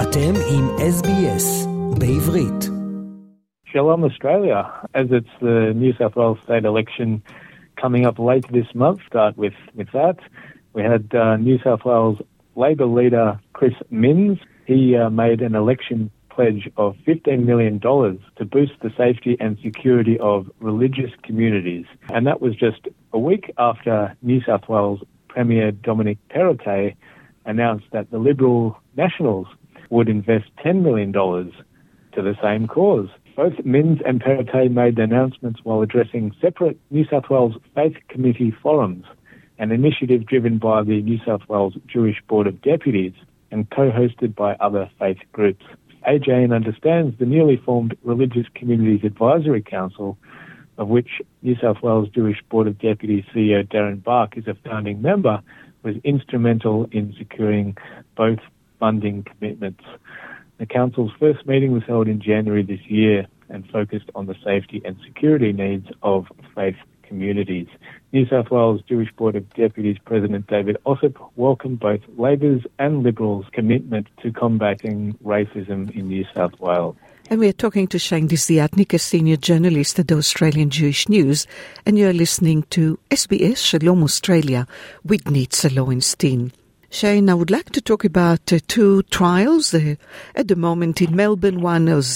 אתם עם SBS בעברית. Shalom Australia. As it's the New South Wales state election coming up later this month, start with that. We had New South Wales Labor leader Chris Minns. He made an election pledge of $15 million to boost the safety and security of religious communities. And that was just a week after New South Wales Premier Dominic Perrottet announced that the Liberal Nationals would invest $10 million to the same cause. Both Minns and Perrottet made the announcements while addressing separate New South Wales Faith Committee forums, an initiative driven by the New South Wales Jewish Board of Deputies and co-hosted by other faith groups. AJN understands the newly formed Religious Communities Advisory Council, of which New South Wales Jewish Board of Deputies CEO Darren Bark is a founding member, was instrumental in securing both funding commitments. The Council's first meeting was held in January this year and focused on the safety and security needs of faith communities. New South Wales Jewish Board of Deputies President David Ossip welcomed both Labor's and Liberals' commitment to combating racism in New South Wales. And we are talking to Shane Desiatnik, a senior journalist at the Australian Jewish News, and you're listening to SBS Shalom Australia with Nitza Lowenstein. Shane, I would like to talk about two trials at the moment in Melbourne. One is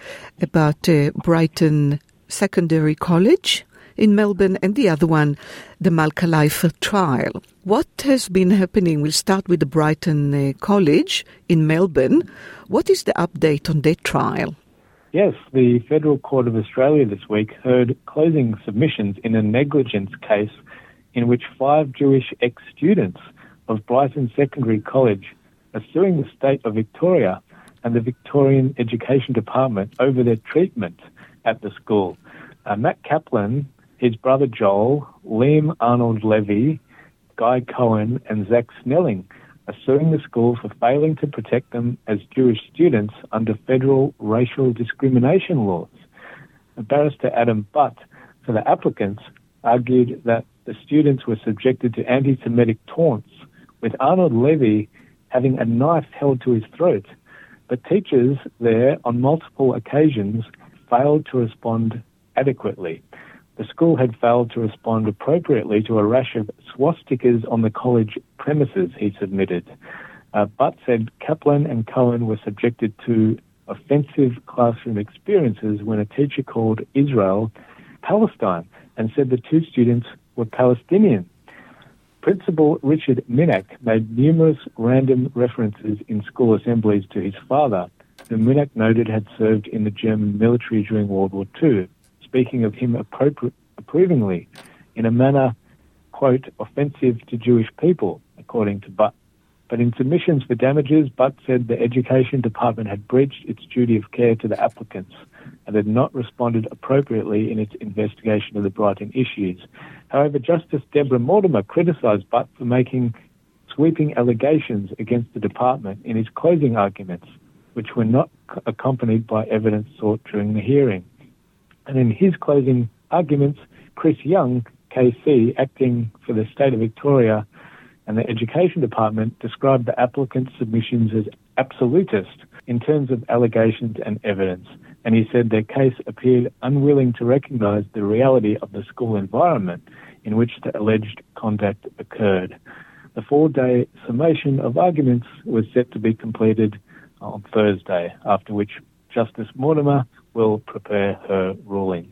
about Brighton Secondary College in Melbourne, and the other one, the Malka Leifer trial. What has been happening? We'll start with the Brighton College in Melbourne. What is the update on that trial? Yes, the Federal Court of Australia this week heard closing submissions in a negligence case in which 5 Jewish ex-students of Brighton Secondary College are suing the state of Victoria and the Victorian Education Department over their treatment at the school. Matt Kaplan, his brother Joel, Liam Arnold Levy, Guy Cohen and Zach Snelling are suing the school for failing to protect them as Jewish students under federal racial discrimination laws. Barrister Adam Butt, for the applicants, argued that the students were subjected to anti-Semitic taunts, with Arnold Levy having a knife held to his throat. But teachers there, on multiple occasions, failed to respond adequately. The school had failed to respond appropriately to a rash of swastikas on the college premises, he submitted. Butt said Kaplan and Cohen were subjected to offensive classroom experiences when a teacher called Israel Palestine and said the 2 students were Palestinian. Principal Richard Minak made numerous random references in school assemblies to his father, whom Minak noted had served in the German military during World War II, speaking of him approvingly in a manner, quote, offensive to Jewish people, according to Butt. But in submissions for damages, Butt said the Education Department had breached its duty of care to the applicants and had not responded appropriately in its investigation of the Brighton issues. However, Justice Deborah Mortimer criticised Butt for making sweeping allegations against the department in his closing arguments, which were not accompanied by evidence sought during the hearing. And in his closing arguments, Chris Young, KC, acting for the state of Victoria and the Education Department, described the applicant's submissions as absolutist in terms of allegations and evidence. And he said their case appeared unwilling to recognise the reality of the school environment in which the alleged conduct occurred. The 4-day summation of arguments was set to be completed on Thursday, after which Justice Mortimer will prepare her ruling.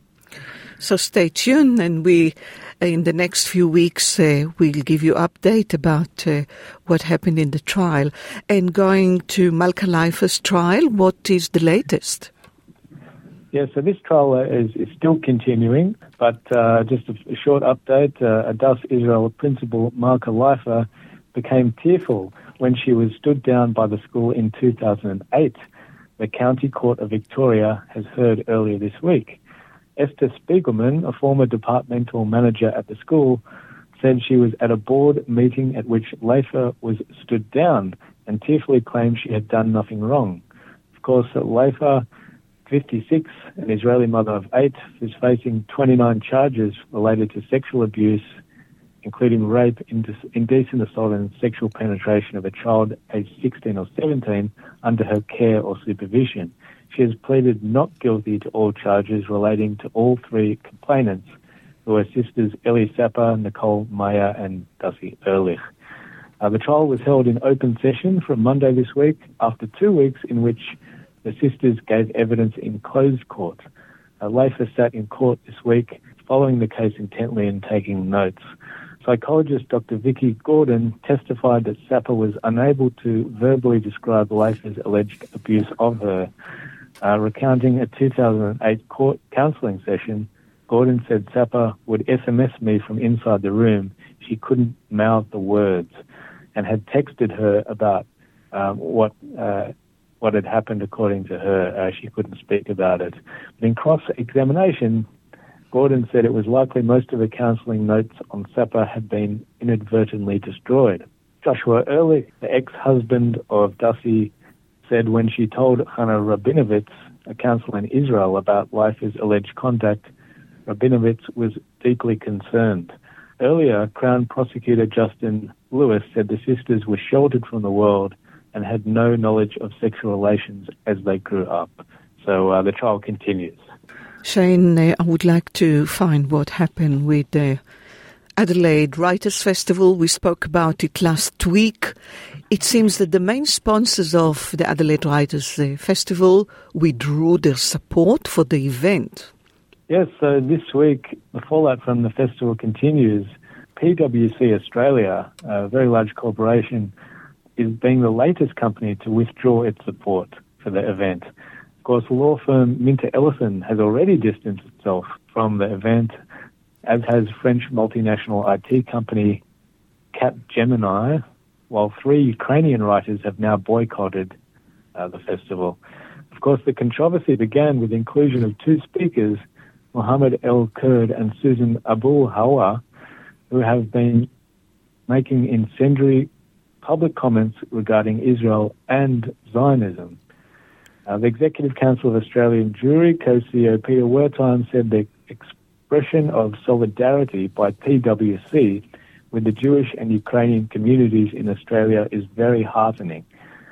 So stay tuned, and we, in the next few weeks, we'll give you update about what happened in the trial. And going to Malka Leifer's trial, what is the latest? Yeah, so this trial is still continuing, but just a short update. Adas Israel principal Malka Leifer became tearful when she was stood down by the school in 2008. The County Court of Victoria has heard earlier this week. Esther Spiegelman, a former departmental manager at the school, said she was at a board meeting at which Leifer was stood down and tearfully claimed she had done nothing wrong. Of course, Leifer, 56, an Israeli mother of 8, is facing 29 charges related to sexual abuse including rape, indecent assault and sexual penetration of a child aged 16 or 17 under her care or supervision. She has pleaded not guilty to all charges relating to all three complainants, who are sisters Ellie Sapper, Nicole Meyer and Dussie Ehrlich. The trial was held in open session from Monday this week after 2 weeks in which the sisters gave evidence in closed court. Leifer sat in court this week following the case intently and taking notes. Psychologist Dr. Vicky Gordon testified that Sapper was unable to verbally describe Leifer's alleged abuse of her. Recounting a 2008 court counselling session, Gordon said Sapper would SMS me from inside the room. She couldn't mouth the words, and had texted her about what had happened according to her. She couldn't speak about it. But in cross-examination, Gordon said it was likely most of the counselling notes on Sapper had been inadvertently destroyed. Joshua Ehrlich, the ex-husband of Dussie, said when she told Hannah Rabinovitz, a counsellor in Israel, about Leifer's alleged contact, Rabinovitz was deeply concerned. Earlier, Crown Prosecutor Justin Lewis said the sisters were sheltered from the world and had no knowledge of sexual relations as they grew up. So the trial continues. Shane, I would like to find what happened with the Adelaide Writers' Festival. We spoke about it last week. It seems that the main sponsors of the Adelaide Writers' Festival withdrew their support for the event. Yes, so this week, the fallout from the festival continues. PwC Australia, a very large corporation, is being the latest company to withdraw its support for the event. Of course, law firm Minter Ellison has already distanced itself from the event, as has French multinational IT company Capgemini, while 3 Ukrainian writers have now boycotted the festival. Of course, the controversy began with the inclusion of 2 speakers, Mohammed El Kurd and Susan Abu Hawa, who have been making incendiary public comments regarding Israel and Zionism. The Executive Council of Australian Jewry, co-CEO Peter Wertheim, said the expression of solidarity by PwC with the Jewish and Ukrainian communities in Australia is very heartening.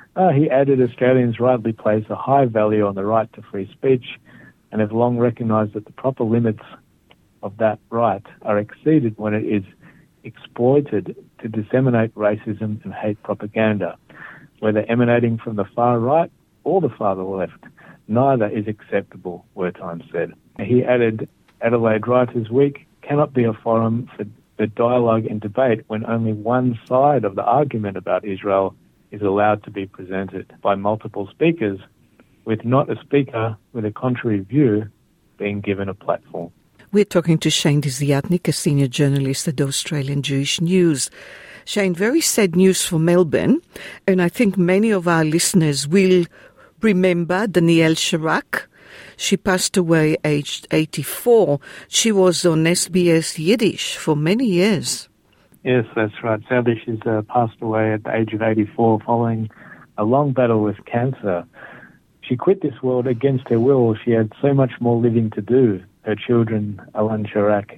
He added Australians rightly place a high value on the right to free speech and have long recognised that the proper limits of that right are exceeded when it is exploited to disseminate racism and hate propaganda, whether emanating from the far right or the far left. Neither is acceptable, Wertheim said. He added, Adelaide Writers' Week cannot be a forum for the dialogue and debate when only one side of the argument about Israel is allowed to be presented by multiple speakers, with not a speaker with a contrary view being given a platform. We're talking to Shane Desiatnik, a senior journalist at the Australian Jewish News. Shane, very sad news for Melbourne, and I think many of our listeners will remember Danielle Sharak. She passed away aged 84. She was on SBS Yiddish for many years. Yes, that's right. Sadly, she's passed away at the age of 84 following a long battle with cancer. She quit this world against her will. She had so much more living to do. Her children, Alan Sharak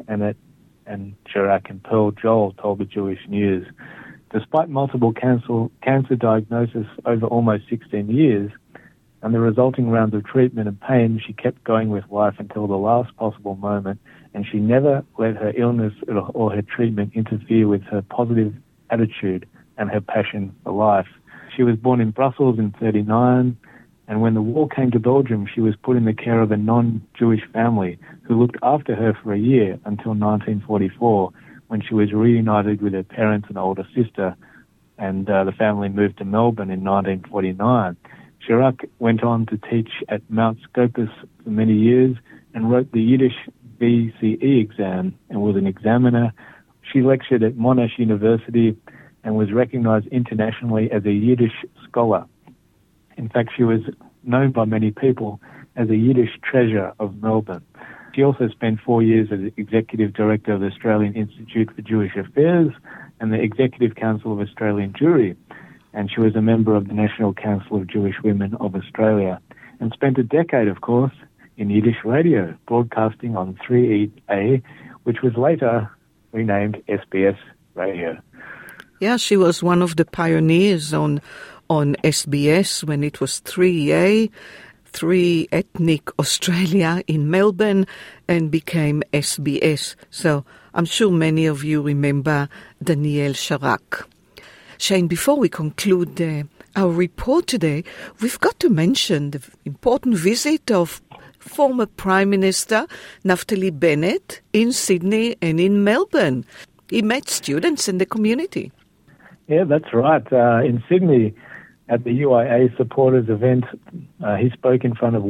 and Sharak and Pearl Joel, told the Jewish News. Despite multiple cancer diagnosis over almost 16 years and the resulting rounds of treatment and pain, she kept going with life until the last possible moment, and she never let her illness or her treatment interfere with her positive attitude and her passion for life. She was born in Brussels in 1939, and when the war came to Belgium, she was put in the care of a non-Jewish family who looked after her for a year until 1944, when she was reunited with her parents and older sister, and the family moved to Melbourne in 1949. Sharak went on to teach at Mount Scopus for many years and wrote the Yiddish BCE exam and was an examiner. She lectured at Monash University and was recognized internationally as a Yiddish scholar. In fact, she was known by many people as a Yiddish treasure of Melbourne. She also spent 4 years as Executive Director of the Australian Institute for Jewish Affairs and the Executive Council of Australian Jewry, and she was a member of the National Council of Jewish Women of Australia, and spent a decade, of course, in Yiddish radio, broadcasting on 3EA, which was later renamed SBS Radio. Yeah, she was one of the pioneers on SBS when it was 3A, 3 Ethnic Australia in Melbourne, and became SBS. So I'm sure many of you remember Danielle Sharak. Shane, before we conclude our report today, we've got to mention the important visit of former Prime Minister Naftali Bennett in Sydney and in Melbourne. He met students in the community. Yeah, that's right. In Sydney, at the UIA supporters event, he spoke in front of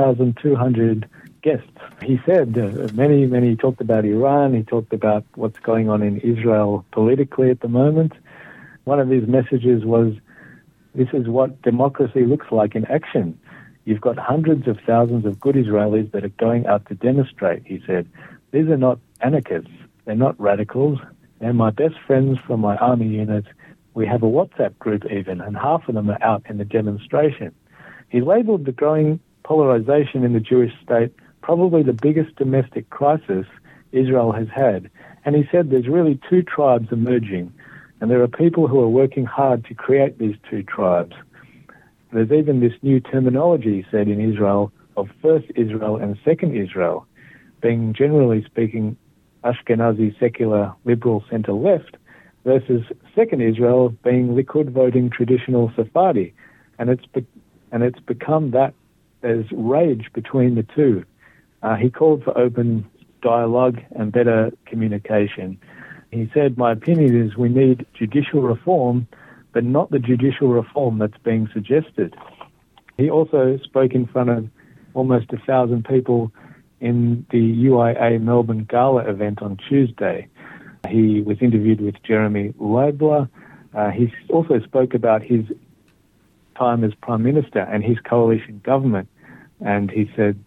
1,200 guests. He said many talked about Iran. He talked about what's going on in Israel politically at the moment. One of his messages was, this is what democracy looks like in action. You've got hundreds of thousands of good Israelis that are going out to demonstrate, he said. These are not anarchists. They're not radicals. They're my best friends from my army unit. We have a WhatsApp group even, and half of them are out in the demonstration. He labelled the growing polarization in the Jewish state probably the biggest domestic crisis Israel has had. And he said there's really two tribes emerging, and there are people who are working hard to create these two tribes. There's even this new terminology, he said, in Israel of First Israel and Second Israel, being generally speaking Ashkenazi secular liberal centre-left versus Second Israel being Likud voting traditional Sephardi. And it's become that there's rage between the two. He called for open dialogue and better communication. He said, my opinion is we need judicial reform, but not the judicial reform that's being suggested. He also spoke in front of almost 1,000 people in the UIA Melbourne Gala event on Tuesday. He was interviewed with Jeremy Leibler. He also spoke about his time as Prime Minister and his coalition government. And he said,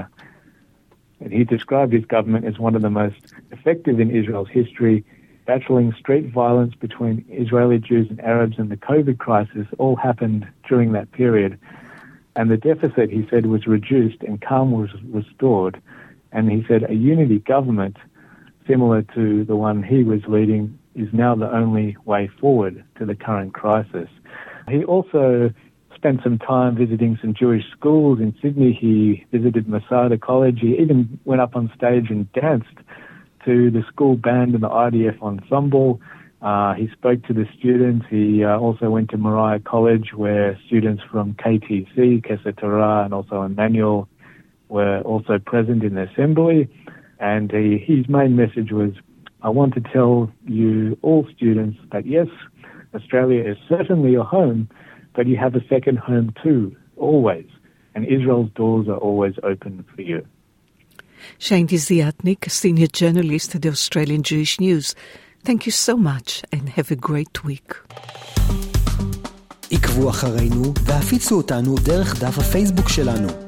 he described his government as one of the most effective in Israel's history. Battling street violence between Israeli Jews and Arabs and the COVID crisis all happened during that period. And the deficit, he said, was reduced and calm was restored. And he said a unity government, similar to the one he was leading, is now the only way forward to the current crisis. He also spent some time visiting some Jewish schools in Sydney. He visited Masada College. He even went up on stage and danced to the school band and the IDF ensemble. He spoke to the students. He also went to Moriah College, where students from KTC, Keser Torah, and also Emmanuel were also present in the assembly. And his main message was, I want to tell you all students that yes, Australia is certainly your home, but you have a second home too, always. And Israel's doors are always open for you. Shane Desiatnik, Senior Journalist at the Australian Jewish News. Thank you so much and have a great week. עקבו אחרינו והפיצו אותנו דרך דף הפייסבוק שלנו.